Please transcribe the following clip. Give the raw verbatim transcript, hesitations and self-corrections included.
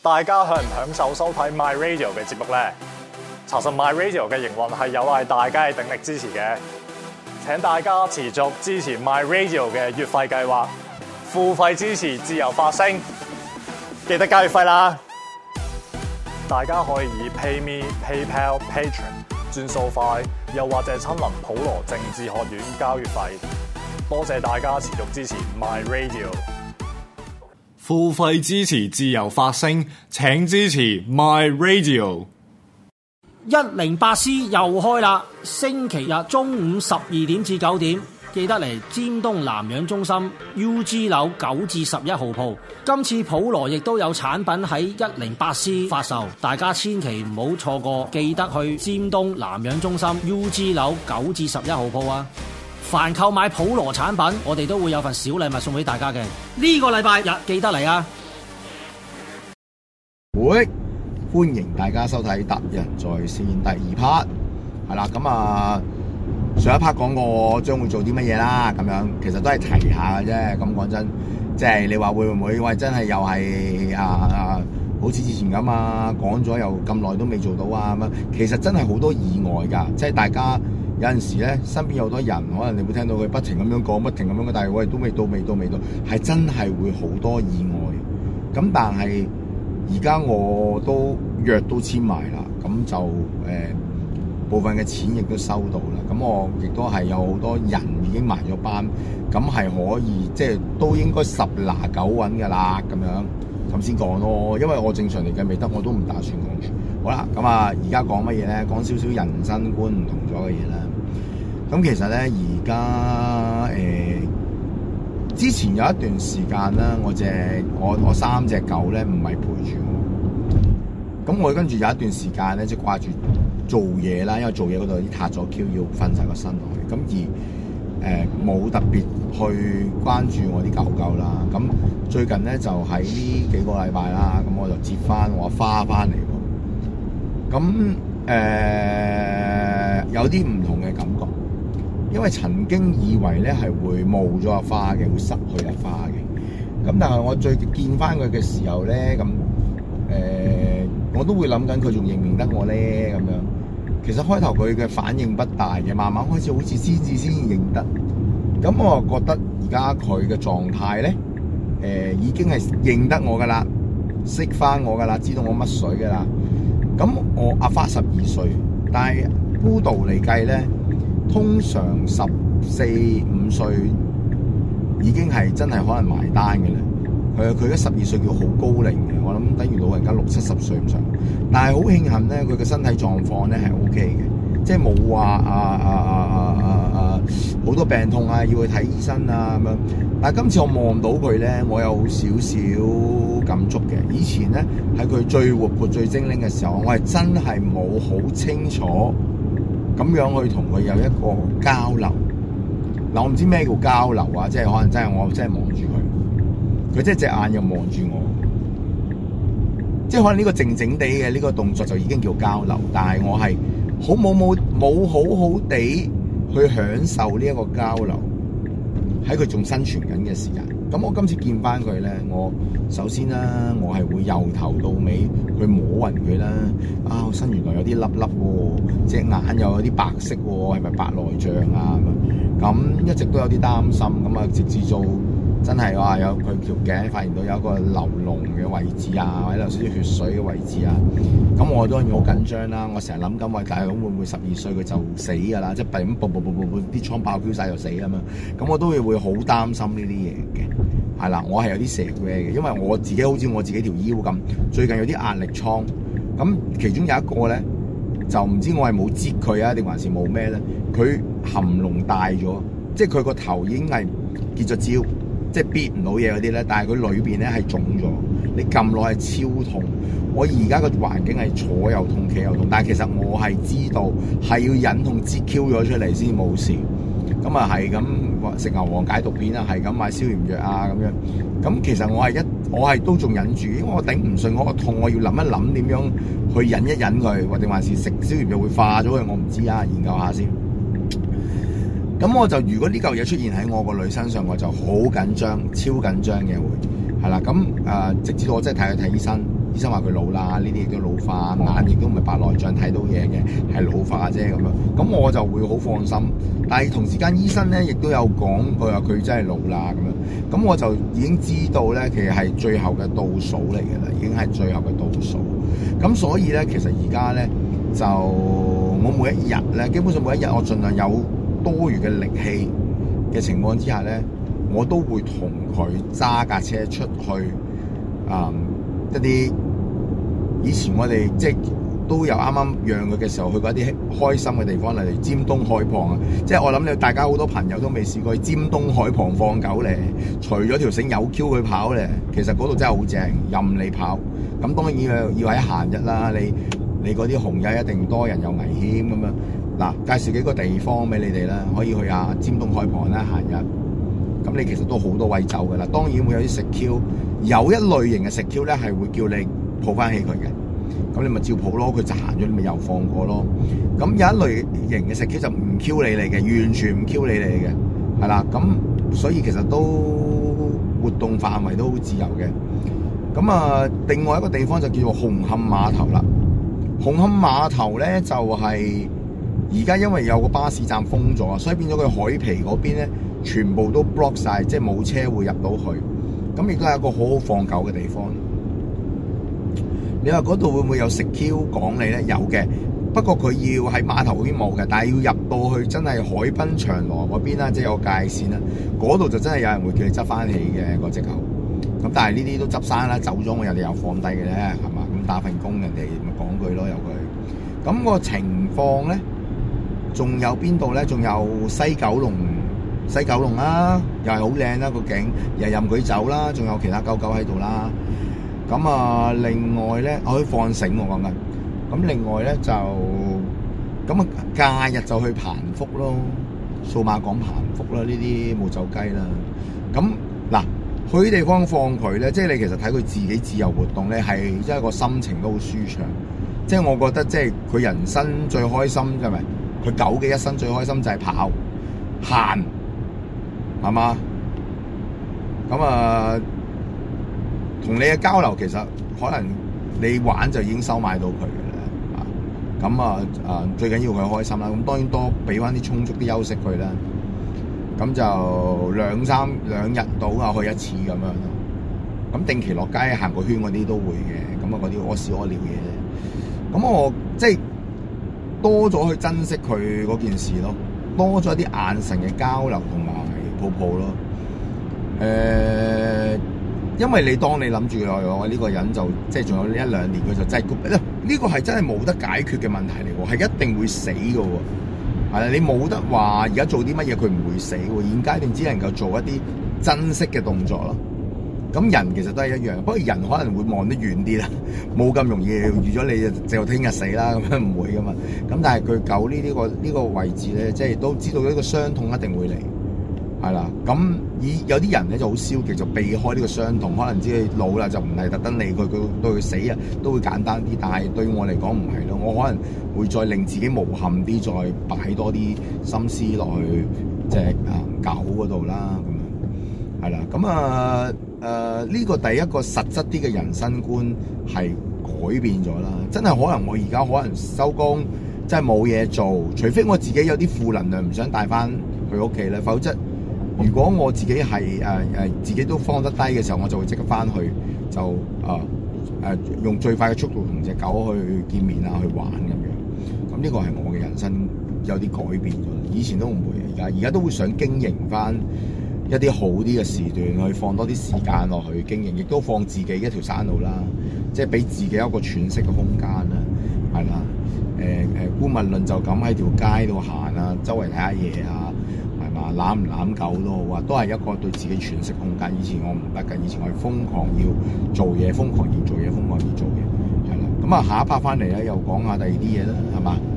大家享唔享受收睇 My Radio 嘅節目呢？查實 My Radio 嘅營運係有賴大家嘅鼎力支持嘅，請大家持續支持 My Radio 嘅月費計劃，付費支持自由發聲，記得交月費啦！大家可以以 PayMe、PayPal、Patreon 轉數快，又或者親臨普羅政治學院交月費。多謝大家持續支持 My Radio。付費支持自由發聲，請支持 My Radio。 一零八 C 又開啦，星期日中午十二點至九點，記得嚟尖東南洋中心 U G 樓九至十一號鋪。今次普羅亦都有產品喺一零八 C 發售，大家千祈唔好錯過，記得去尖東南洋中心 U G 樓九至十一號鋪啊！凡購買普羅產品，我哋都會有份小禮物送俾大家嘅。呢個禮拜日記得嚟啊！ 會歡迎大家收睇達仁在線第二 part， 係啦，咁啊上一 part 講過我將會做啲乜嘢啦，咁樣其實都係提下嘅啫。咁講真，即係你話會唔會喂真係又係啊啊好似之前咁啊講咗又咁耐都未做到啊咁樣，其實真係好多意外㗎，即係大家。有陣時咧，身邊有好多人，可能你會聽到佢不停咁樣講，不停咁樣講，但係喂都未到，未到，未到，係真係會好多意外。咁但係而家我都約都簽埋啦，咁就誒、呃、部分嘅錢亦都收到啦。咁我亦都係有好多人已經埋咗班，咁係可以即係都應該十拿九穩㗎啦。咁樣咁先講咯，因為我正常嚟計未得，我都唔打算講住。好啦，咁啊而家講乜嘢咧？講少少人生觀唔同咗嘅嘢啦。咁其實咧，而家誒之前有一段時間啦，我隻我我三隻狗咧唔係陪住我，咁我跟住有一段時間咧，即係掛住做嘢啦，因為做嘢嗰度啲撻咗 Q 要瞓晒個身落去，咁而誒冇、呃、特別去關注我啲狗狗啦。咁最近咧就喺呢幾個禮拜啦，咁我就接翻我花翻嚟喎，咁誒、呃、有啲唔同嘅感覺。因為曾經以為咧係會冇咗阿花嘅，會失去阿花嘅。咁但係我最見翻佢嘅時候咧，咁誒、呃、我都會諗緊佢仲認唔認得我咧咁樣。其實開頭佢嘅反應不大嘅，慢慢開始好似先至先認得。咁我覺得而家佢嘅狀態咧，誒、呃、已經係認得我噶啦，識翻我噶啦，知道我乜水噶啦。咁我阿花十二歲，但係孤獨嚟計咧。通常十四五歲已經係真係可能埋單嘅啦。佢佢而家十二歲叫好高齡嘅，我諗等於老人家六七十歲咁上。但係好慶幸咧，佢嘅身體狀況咧係 O K 嘅，即係冇話啊啊啊啊啊啊好多病痛啊，要去睇醫生啊咁樣。但係今次我望到佢咧，我有少少感觸嘅。以前咧喺佢最活潑最精靈嘅時候，我係真係冇好清楚。咁樣去同佢有一個交流，嗱我唔知咩叫交流啊，即係可能真係我真係望住佢，佢即係隻眼又望住我，即係可能呢個靜靜地嘅呢個動作就已經叫交流，但係我係好冇冇冇好好地去享受呢一個交流，喺佢仲生存緊嘅時間。咁我今次見翻佢咧，我首先啦，我係會由頭到尾去摸勻佢啦。啊，我身原來有啲粒粒喎，隻眼又有啲白色喎，係咪白內障啊？咁一直都有啲擔心。咁啊，直至到真係話有佢條頸發現到有一個流膿嘅位置啊，或者有少少血水嘅位置啊。咁我當然好緊張啦。我成日諗緊話，大佬會唔會十二歲佢就死㗎啦？即係咁啵啵啵啵啵啲瘡爆飆晒就死啊嘛。咁我都會會好擔心呢啲嘢嘅。係啦，我係有啲蛇嘅嘅，因為我自己好似我自己條腰咁，最近有啲壓力瘡。咁其中有一個咧，就唔知我係冇擠佢啊，定還是冇咩咧？佢含膿大咗，即係佢個頭已經係結咗焦，即係憋唔到嘢嗰啲咧。但係佢裏邊咧係腫咗，你撳落係超痛。我而家個環境係坐又痛，企又痛，但係其實我係知道係要忍痛擠 Q 咗出嚟先冇事。咁啊係咁食牛黃解毒片啊，係咁買消炎藥啊咁樣。咁其實我係一我係都仲忍住，因為我頂唔順我個痛，我要諗一諗點樣去忍一忍佢，或者還是食消炎藥會化咗佢，我唔知啊，研究下先。咁我就如果呢嚿嘢出現喺我個女身上，我就好緊張，超緊張嘅會係啦。咁誒、呃，直至到我真係睇佢睇醫生， 醫生話佢老啦，呢啲亦都老化，眼亦都唔係白內障睇到嘢嘅，係老化啫咁樣。咁我就會好放心。但係同時間醫生咧亦都有講，佢話佢真係老啦咁樣。咁我就已經知道咧，其實係最後嘅倒數嚟嘅啦，已經係最後嘅倒數。咁所以咧，其實而家咧就我每一日咧，基本上每一日我盡量有多餘嘅力氣嘅情況之下咧，我都會同佢揸架車出去啊、嗯、一啲以前我哋即係都有啱啱養佢嘅時候去過一啲開心嘅地方，例如尖東海旁啊！即係我諗你大家好多朋友都未試過去尖東海旁放狗咧，除咗條繩有 Q 佢跑咧，其實嗰度真係好正，任你跑。咁當然要要喺閒日啦，你你嗰啲紅日一定多人有危險咁樣。嗱，介紹幾個地方俾你哋啦，可以去下尖東海旁啦，閒日。咁你其實都好多位走噶啦，當然會有啲食 Q，有一類型嘅食 Q 咧係會叫你抱翻起佢嘅。咁你咪照抱咯，佢就行咗，你咪又放過咯。咁有一類型嘅食 Q 就唔 Q 你嚟嘅，完全唔 Q 你嚟嘅，係啦。咁所以其實都活動範圍都好自由嘅。咁啊，另外一個地方就叫做紅磡碼頭啦。紅磡碼頭咧就係而家因為有個巴士站封咗，所以變咗佢海皮嗰邊咧全部都 block 晒，即係冇車會入到去。咁亦都係一個好好放狗嘅地方。你話嗰度會唔會有食 Q 講你咧？有嘅，不過佢要喺碼頭嗰邊冇嘅，但係要入到去真係海濱長廊嗰邊啦，即係有界線啦。嗰度就真係有人會叫你執翻起嘅個隻狗。咁但係呢啲都執生啦，走咗我人哋又放低嘅咧，係嘛？咁打份工人哋咪講句咯，由佢。咁、那個情況咧，仲有邊度咧？仲有西九龍，西九龍啦，又係好靚啦個景，又任佢走啦，仲有其他狗狗喺度啦。咁啊，另外咧，我可以放繩我講緊。咁另外咧就，咁啊假日就去彭福咯，數碼港彭福啦，呢啲冇走雞啦。咁嗱，去啲地方放佢咧，即係你其實睇佢自己自由活動咧，係即係個心情都好舒暢。即係我覺得，即係佢人生最開心係咪？佢狗嘅一生最開心就係跑、行，係嘛？咁啊。同你嘅交流其實可能你玩就已經收買到佢嘅啦，咁啊啊最緊要佢開心啦，咁當然多俾翻啲充足啲休息佢啦，咁就兩三兩日到啊去一次咁樣咯，咁定期落街行個圈嗰啲都會嘅，咁啊嗰啲屙屎屙尿嘢咧，咁我即係多咗去珍惜佢嗰件事咯，多咗一啲眼神嘅交流同埋抱抱咯，誒、呃。因為你當你諗住我呢個人就即係仲有呢一兩年，佢就真係呢個係真係冇得解決嘅問題嚟喎，係一定會死嘅喎。係啦，你冇得話而家做啲乜嘢佢唔會死喎，現階段只能夠做一啲珍惜嘅動作咯。咁人其實都係一樣，不過人可能會望得遠啲啦，冇咁容易預咗你就聽日死啦，咁樣唔會噶嘛。咁但係佢狗呢啲個呢個位置咧，即係都知道呢個傷痛一定會嚟。係啦，咁以有啲人咧就好消極，就避開呢個傷痛，可能知佢老啦就唔係特登理佢，佢對佢死啊都會簡單啲。但係對我嚟講唔係咯，我可能會再令自己無憾啲，再擺多啲心思落去隻啊狗嗰度啦，咁樣係啦。咁啊誒呢個第一個實質啲嘅人生觀係改變咗啦，真係可能我而家可能收工真係冇嘢做，除非我自己有啲負能量唔想帶翻去屋企咧，否則。如果我自己係誒誒自己都放得低嘅時候，我就會即刻翻去就誒誒、呃呃、用最快嘅速度同隻狗去見面啊，去玩咁樣。咁呢個係我嘅人生有啲改變咗，以前都唔會，而家而家都會想經營翻一啲好啲嘅時段，去放多啲時間落去經營，亦都放自己一條山路啦，即係俾自己一個喘息嘅空間啦，係啦。誒誒，姑勿論就咁喺條街度行啊，周圍睇下嘢啊。攬唔攬狗都好啊，都係一個對自己喘息空間。以前我唔得㗎，以前我係瘋狂要做嘢，瘋狂要做嘢，瘋狂要做嘢，係啦。咁啊，下一 part 翻嚟咧，又講下第二啲嘢啦，係嘛？